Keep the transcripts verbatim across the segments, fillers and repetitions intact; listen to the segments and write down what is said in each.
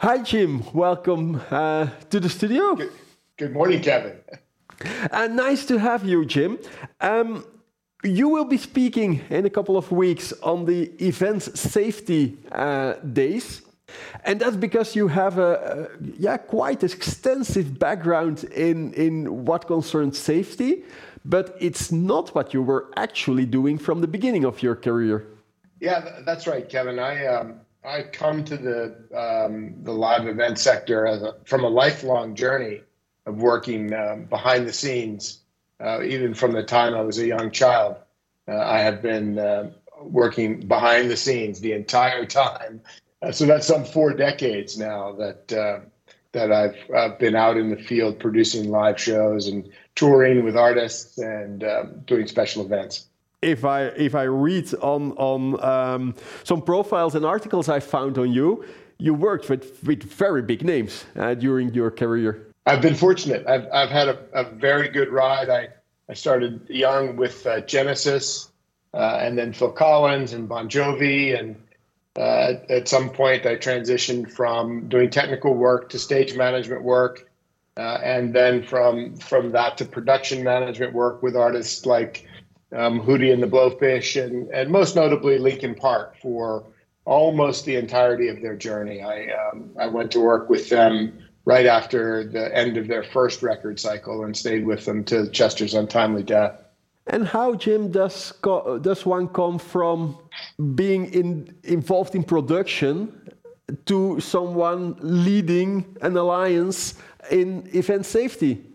Hi, Jim. Welcome uh, to the studio. Good, good morning, Kevin. Uh, nice to have you, Jim. Um, you will be speaking in a couple of weeks on the Events Safety uh, Days. And that's because you have a, a yeah quite extensive background in, in what concerns safety, but it's not what you were actually doing from the beginning of your career. Yeah, that's right, Kevin. I um, I come to the um, the live event sector as a, from a lifelong journey of working um, behind the scenes. Uh, even from the time I was a young child, uh, I have been uh, working behind the scenes the entire time. Uh, so that's some four decades now that uh, that I've uh, been out in the field producing live shows and touring with artists and um, doing special events. If I if I read on on um, some profiles and articles I found on you, you worked with with very big names uh, during your career. I've been fortunate. I've I've had a, a very good ride. I I started young with uh, Genesis, uh, and then Phil Collins and Bon Jovi, and uh, at some point I transitioned from doing technical work to stage management work, uh, and then from from that to production management work with artists like um, Hootie and the Blowfish, and and most notably Linkin Park for almost the entirety of their journey. I um, I went to work with them right after the end of their first record cycle and stayed with them to Chester's untimely death. And how, Jim, does co- does one come from being in, involved in production to someone leading an alliance in event safety?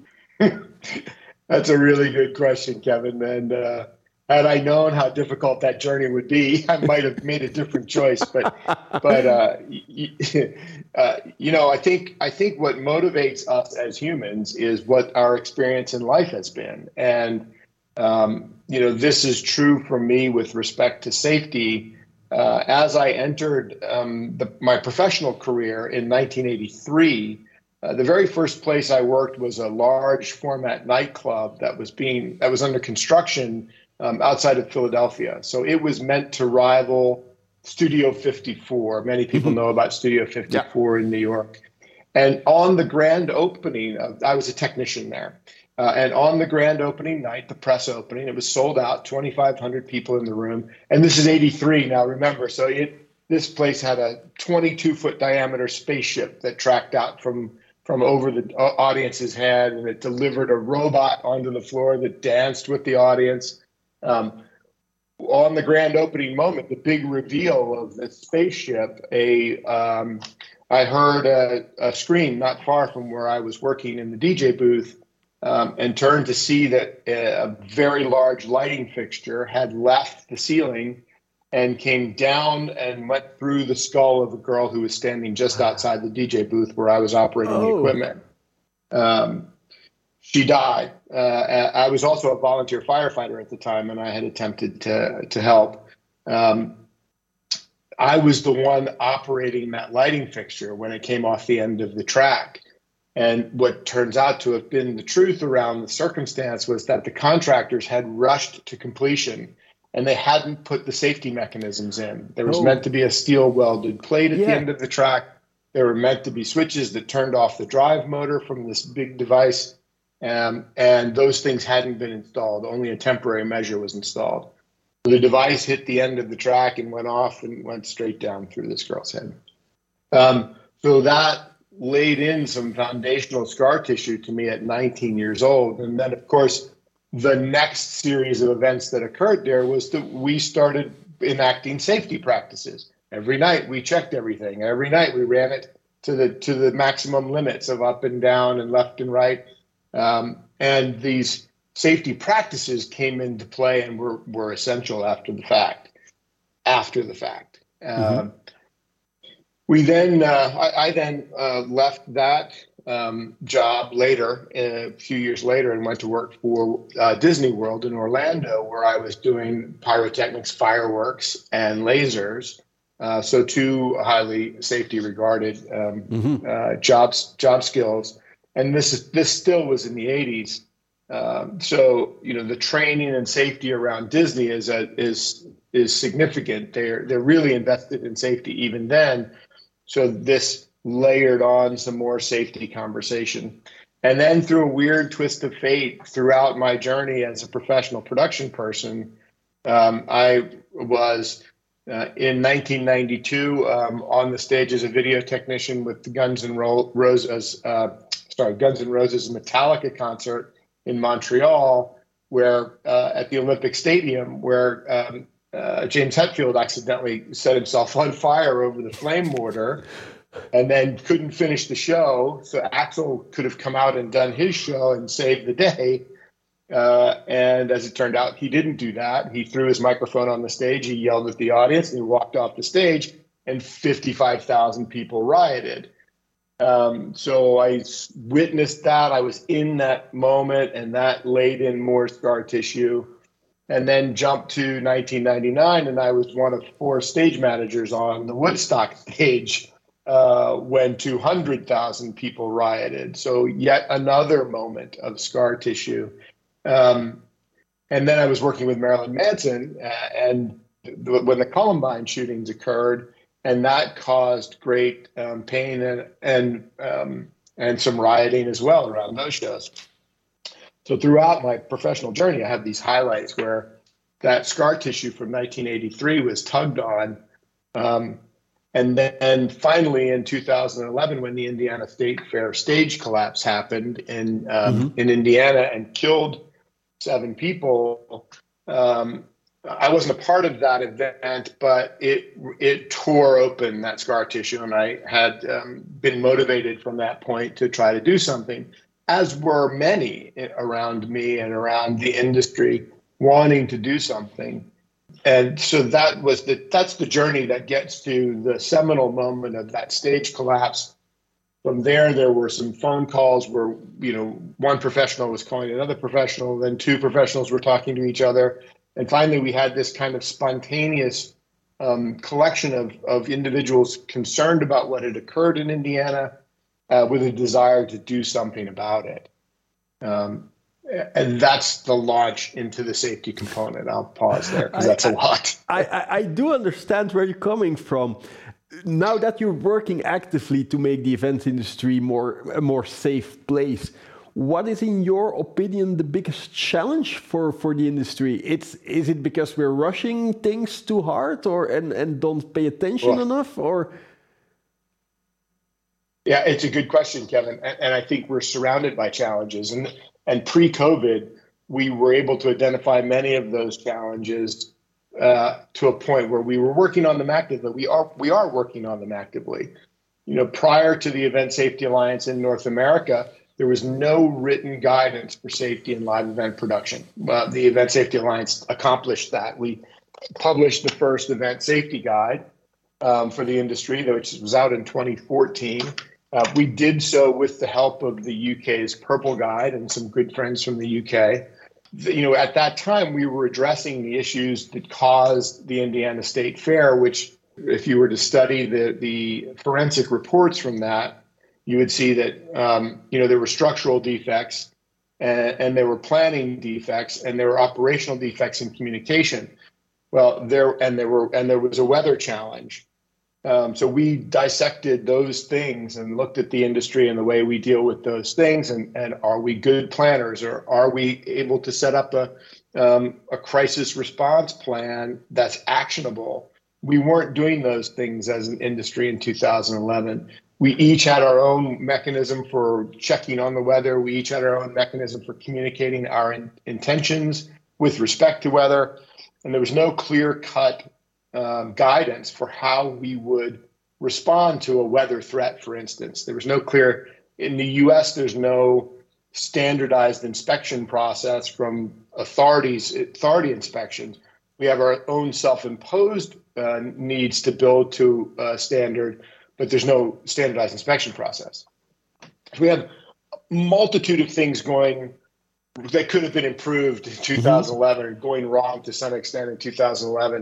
That's a really good question, Kevin. And uh, had I known how difficult that journey would be, I might have made a different choice. But, but uh, y- uh, you know, I think I think what motivates us as humans is what our experience in life has been. And um, you know, this is true for me with respect to safety. Uh, as I entered um, the, my professional career in nineteen eighty-three. Uh, the very first place I worked was a large format nightclub that was being that was under construction um, outside of Philadelphia. So it was meant to rival Studio fifty-four. Many people know about Studio fifty-four yeah. in New York. And on the grand opening, of, I was a technician there. Uh, and on the grand opening night, the press opening, it was sold out, twenty-five hundred people in the room. And this is eighty-three now, remember. So it this place had a twenty-two foot diameter spaceship that tracked out from from over the audience's head, and it delivered a robot onto the floor that danced with the audience. Um, on the grand opening moment, the big reveal of the spaceship, a um, I heard a, a scream not far from where I was working in the D J booth, um, and turned to see that a very large lighting fixture had left the ceiling and came down and went through the skull of a girl who was standing just outside the D J booth where I was operating oh. the equipment. Um, she died. Uh, I was also a volunteer firefighter at the time, and I had attempted to, to help. Um, I was the one operating that lighting fixture when it came off the end of the track. And what turns out to have been the truth around the circumstance was that the contractors had rushed to completion, and they hadn't put the safety mechanisms in. There was oh. meant to be a steel welded plate at yeah. the end of the track. There were meant to be switches that turned off the drive motor from this big device. Um, and those things hadn't been installed. Only a temporary measure was installed. So the device hit the end of the track and went off and went straight down through this girl's head. Um, so that laid in some foundational scar tissue to me at nineteen years old. And then, of course, the next series of events that occurred there was that we started enacting safety practices. Every night we checked everything. Every night we ran it to the to the maximum limits of up and down and left and right. Um, and these safety practices came into play and were, were essential after the fact. After the fact. Mm-hmm. Um, we then, uh, I, I then uh, left that Um, job later, a few years later, and went to work for uh, Disney World in Orlando, where I was doing pyrotechnics, fireworks, and lasers. Uh, so two highly safety regarded um, mm-hmm. uh, jobs, job skills. And this is this still was in the eighties. Um, so you know the training and safety around Disney is a, is is significant. They're they're really invested in safety even then. So this layered on some more safety conversation. And then through a weird twist of fate throughout my journey as a professional production person, um, I was uh, in nineteen ninety-two um, on the stage as a video technician with the Guns N' Roses, uh, sorry, Guns N' Roses Metallica concert in Montreal, where uh, at the Olympic Stadium, where um, uh, James Hetfield accidentally set himself on fire over the flame mortar, and then couldn't finish the show. So Axl could have come out and done his show and saved the day. Uh, and as it turned out, he didn't do that. He threw his microphone on the stage. He yelled at the audience and he walked off the stage, and fifty-five thousand people rioted. Um, so I witnessed that. I was in that moment, and that laid in more scar tissue. And then jumped to nineteen ninety-nine, and I was one of four stage managers on the Woodstock stage uh, when two hundred thousand people rioted. So yet another moment of scar tissue. Um, and then I was working with Marilyn Manson, uh, and th- when the Columbine shootings occurred, and that caused great um, pain and and um, and some rioting as well around those shows. So throughout my professional journey, I have these highlights where that scar tissue from nineteen eighty-three was tugged on. Um, and then finally in two thousand eleven, when the Indiana State Fair stage collapse happened in, um, mm-hmm. in Indiana and killed seven people, um, I wasn't a part of that event, but it it tore open that scar tissue, and I had um, been motivated from that point to try to do something, as were many around me and around the industry wanting to do something. And so that was the that's the journey that gets to the seminal moment of that stage collapse. From there, there were some phone calls where, you know, one professional was calling another professional, then two professionals were talking to each other. And finally, we had this kind of spontaneous um, collection of, of individuals concerned about what had occurred in Indiana, uh, with a desire to do something about it. Um, and that's the launch into the safety component. I'll pause there because that's a lot. I, I, I do understand where you're coming from. Now that you're working actively to make the events industry more a more safe place, what is, in your opinion, the biggest challenge for, for the industry? It's is it because we're rushing things too hard, or and, and don't pay attention well, enough, or? Yeah, it's a good question, Kevin, and, and I think we're surrounded by challenges. And and pre-COVID, we were able to identify many of those challenges uh, to a point where we were working on them actively. We are we are working on them actively. You know, prior to the Event Safety Alliance in North America, there was no written guidance for safety in live event production. Uh, the Event Safety Alliance accomplished that. We published the first event safety guide um, for the industry, which was out in twenty fourteen. Uh, we did so with the help of the U K's Purple Guide and some good friends from the U K. The, you know, at that time, we were addressing the issues that caused the Indiana State Fair, which, if you were to study the, the forensic reports from that, you would see that, um, you know, there were structural defects and, and there were planning defects and there were operational defects in communication. Well, there and there were and there was a weather challenge. Um, so we dissected those things and looked at the industry and the way we deal with those things. And, and are we good planners, or are we able to set up a, um, a crisis response plan that's actionable? We weren't doing those things as an industry in two thousand eleven. We each had our own mechanism for checking on the weather. We each had our own mechanism for communicating our in, intentions with respect to weather. And there was no clear-cut um, guidance for how we would respond to a weather threat, for instance. There was no clear, in the U S, there's no standardized inspection process from authorities, authority inspections. We have our own self-imposed uh, needs to build to a standard, but there's no standardized inspection process. So we have a multitude of things going that could have been improved in two thousand eleven, or going wrong to some extent in two thousand eleven.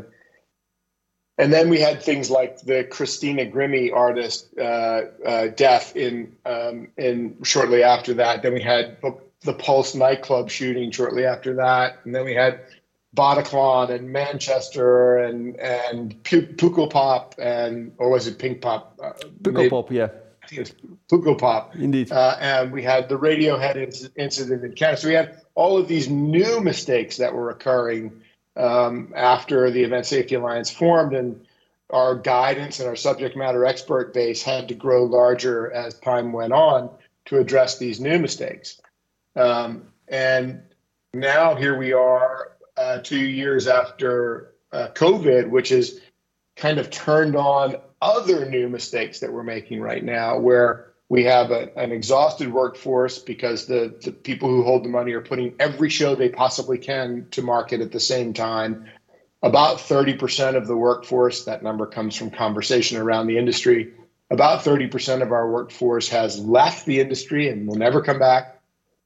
And then we had things like the Christina Grimmie artist uh, uh, death in um, in shortly after that. Then we had the Pulse nightclub shooting shortly after that, and then we had Bataclan and Manchester and and Pukkelpop and or was it Pink Pop? Uh, Pukkelpop, yeah. I think it was Funko Pop. Indeed. Uh, and we had the Radiohead inc- incident in Canada. So we had all of these new mistakes that were occurring um, after the Event Safety Alliance formed, and our guidance and our subject matter expert base had to grow larger as time went on to address these new mistakes. Um, and now here we are uh, two years after uh, COVID, which has kind of turned on other new mistakes that we're making right now, where we have a, an exhausted workforce because the, the people who hold the money are putting every show they possibly can to market at the same time. About thirty percent of the workforce, that number comes from conversation around the industry, about thirty percent of our workforce has left the industry and will never come back.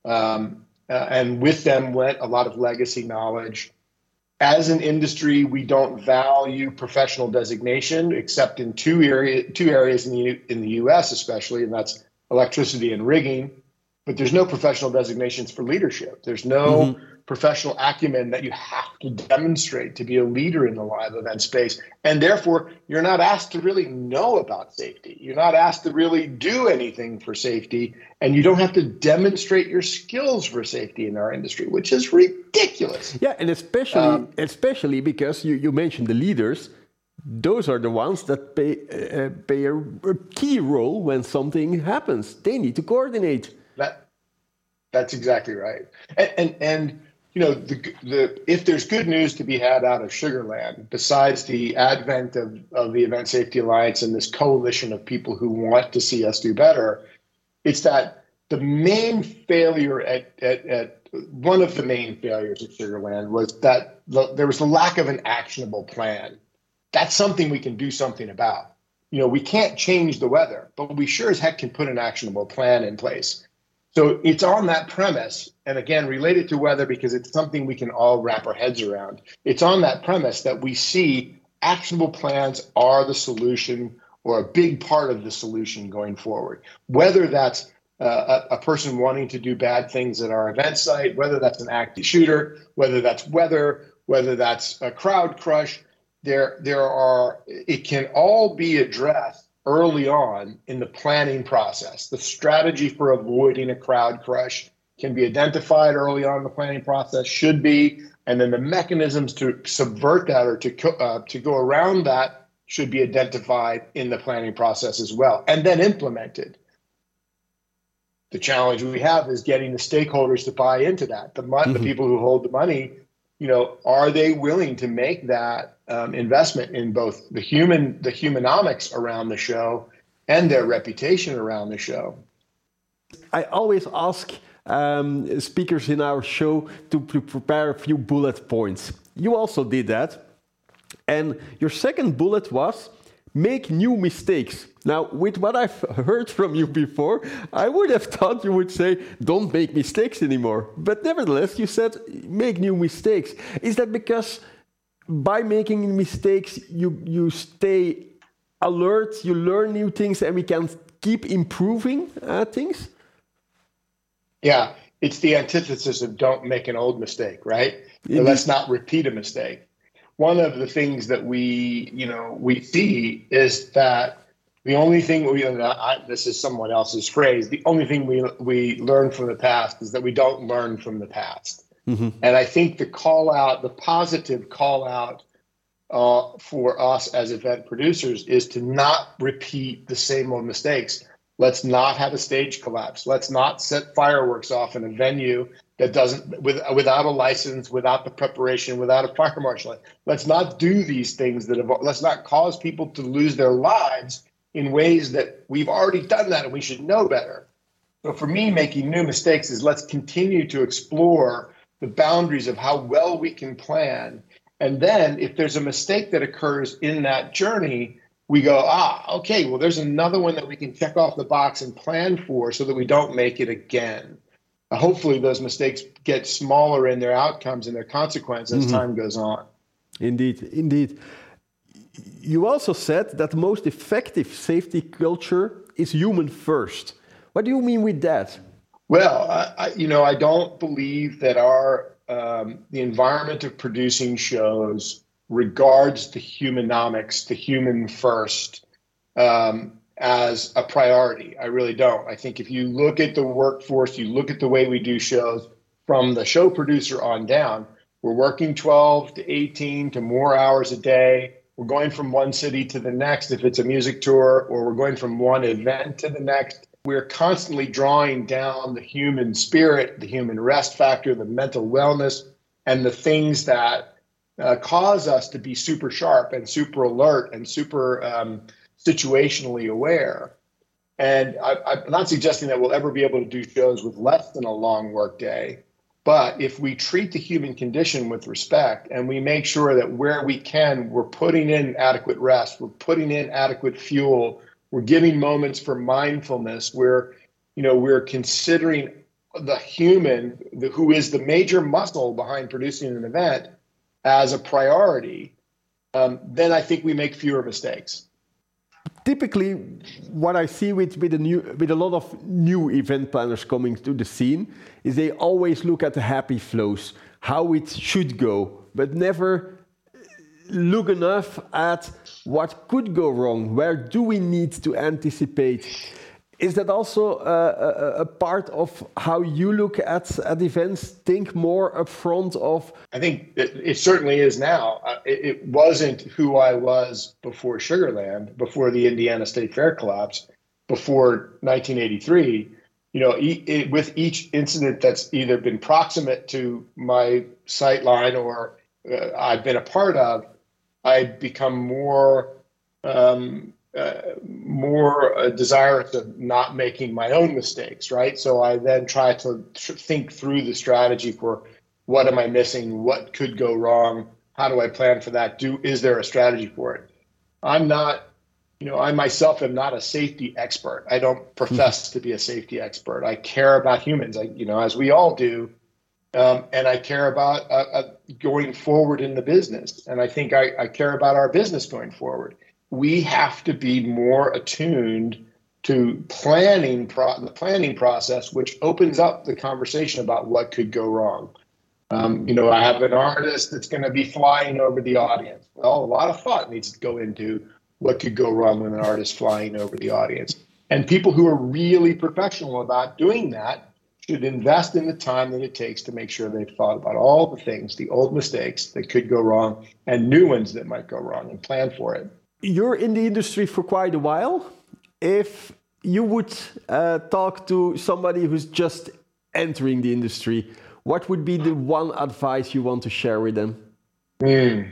Um, uh, and with them went a lot of legacy knowledge. As an industry, we don't value professional designation except in two area, two areas in the in the U S especially, and that's electricity and rigging. But there's no professional designations for leadership. There's no mm-hmm. professional acumen that you have to demonstrate to be a leader in the live event space. And therefore, you're not asked to really know about safety. You're not asked to really do anything for safety. And you don't have to demonstrate your skills for safety in our industry, which is ridiculous. Yeah, and especially um, especially because you, you mentioned the leaders. Those are the ones that pay, uh, play a, a key role when something happens. They need to coordinate. That, that's exactly right. And, and, and you know, the, the, if there's good news to be had out of Sugar Land, besides the advent of, of the Event Safety Alliance and this coalition of people who want to see us do better, it's that the main failure at, at, at one of the main failures at Sugar Land was that the, there was the lack of an actionable plan. That's something we can do something about. You know, we can't change the weather, but we sure as heck can put an actionable plan in place. So it's on that premise, and again, related to weather because it's something we can all wrap our heads around. It's on that premise that we see actionable plans are the solution or a big part of the solution going forward. Whether that's uh, a, a person wanting to do bad things at our event site, whether that's an active shooter, whether that's weather, whether that's a crowd crush, there, there are, it can all be addressed early on in the planning process. The strategy for avoiding a crowd crush can be identified early on in the planning process, should be, and then the mechanisms to subvert that or to, uh, to go around that should be identified in the planning process as well, and then implemented. The challenge we have is getting the stakeholders to buy into that. The, mon- mm-hmm. the people who hold the money, you know, are they willing to make that um, investment in both the human, the humanomics around the show and their reputation around the show? I always ask um, speakers in our show to, to prepare a few bullet points. You also did that. And your second bullet was make new mistakes. Now, with what I've heard from you before, I would have thought you would say, don't make mistakes anymore. But nevertheless, you said, make new mistakes. Is that because by making mistakes, you, you stay alert, you learn new things, and we can keep improving uh, things? Yeah, it's the antithesis of don't make an old mistake, right? Or let's not repeat a mistake. One of the things that we, you know, we see is that the only thing we, I, this is someone else's phrase, the only thing we we learn from the past is that we don't learn from the past. Mm-hmm. And I think the call out, the positive call out uh, for us as event producers is to not repeat the same old mistakes. Let's not have a stage collapse. Let's not set fireworks off in a venue that doesn't, with, without a license, without the preparation, without a fire marshal. Let's not do these things that have, let's not cause people to lose their lives in ways that we've already done that and we should know better. So for me, making new mistakes is let's continue to explore the boundaries of how well we can plan. And then if there's a mistake that occurs in that journey, we go, ah, okay, well, there's another one that we can check off the box and plan for so that we don't make it again. Uh, hopefully those mistakes get smaller in their outcomes and their consequences as mm-hmm. time goes on. Indeed, indeed. You also said that the most effective safety culture is human first. What do you mean with that? Well, I, I, you know, I don't believe that our um, the environment of producing shows regards the humanomics, the human first, um, as a priority. I really don't. I think if you look at the workforce, you look at the way we do shows from the show producer on down, we're working twelve to eighteen to more hours a day. We're going from one city to the next if it's a music tour, or we're going from one event to the next. We're constantly drawing down the human spirit, the human rest factor, the mental wellness, and the things that uh, cause us to be super sharp and super alert and super um, situationally aware. And I, I'm not suggesting that we'll ever be able to do shows with less than a long work day. But if we treat the human condition with respect and we make sure that where we can, we're putting in adequate rest, we're putting in adequate fuel, we're giving moments for mindfulness, we're, you know, we're considering the human, the, who is the major muscle behind producing an event, as a priority, um, then I think we make fewer mistakes. Typically, what I see with with a new with a lot of new event planners coming to the scene is they always look at the happy flows, how it should go, but never look enough at what could go wrong. Where do we need to anticipate? Is that also a, a, a part of how you look at, at events? Think more upfront of... I think it, it certainly is now. Uh, it, it wasn't who I was before Sugarland, before the Indiana State Fair collapse, before nineteen eighty-three. You know, e- it, with each incident that's either been proximate to my sight line or uh, I've been a part of, I've become more... Um, Uh, more uh, desirous of not making my own mistakes, right? So I then try to tr- think through the strategy for what am I missing? What could go wrong? How do I plan for that? Do is there a strategy for it? I'm not, you know, I myself am not a safety expert. I don't profess mm-hmm. to be a safety expert. I care about humans, I, you know, as we all do. Um, and I care about uh, uh, going forward in the business. And I think I, I care about our business going forward. We have to be more attuned to planning pro- the planning process, which opens up the conversation about what could go wrong. Um, you know, I have an artist that's going to be flying over the audience. Well, a lot of thought needs to go into what could go wrong when an artist flying over the audience. And people who are really professional about doing that should invest in the time that it takes to make sure they've thought about all the things, the old mistakes that could go wrong and new ones that might go wrong, and plan for it. You're in the industry for quite a while. If you would uh, talk to somebody who's just entering the industry, what would be the one advice you want to share with them? Mm.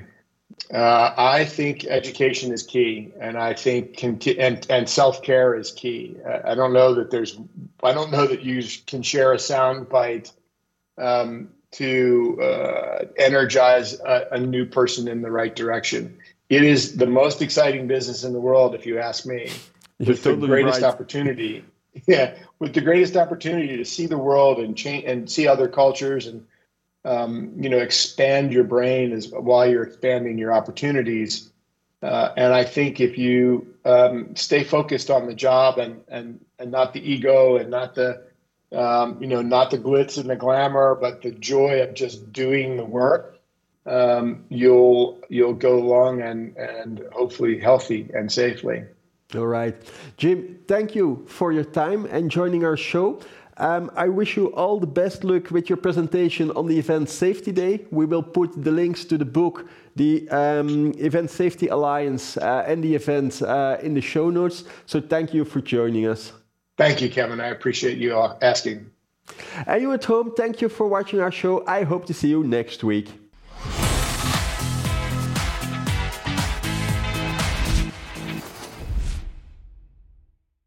Uh, I think education is key, and I think conti- and and self-care is key. Uh, I don't know that there's. I don't know that you can share a soundbite um, to uh, energize a, a new person in the right direction. It is the most exciting business in the world, if you ask me. You're with totally the greatest right. opportunity, yeah, with the greatest opportunity to see the world and change and see other cultures, and um, you know, expand your brain as while you're expanding your opportunities. Uh, and I think if you um, stay focused on the job and and and not the ego and not the um, you know not the glitz and the glamour, but the joy of just doing the work. Um, you'll you'll go long and and hopefully healthy and safely. All right, Jim. Thank you for your time and joining our show. Um, I wish you all the best luck with your presentation on the Event Safety Day. We will put the links to the book, the um, Event Safety Alliance, uh, and the event uh, in the show notes. So thank you for joining us. Thank you, Kevin. I appreciate you asking. And you at home, thank you for watching our show. I hope to see you next week.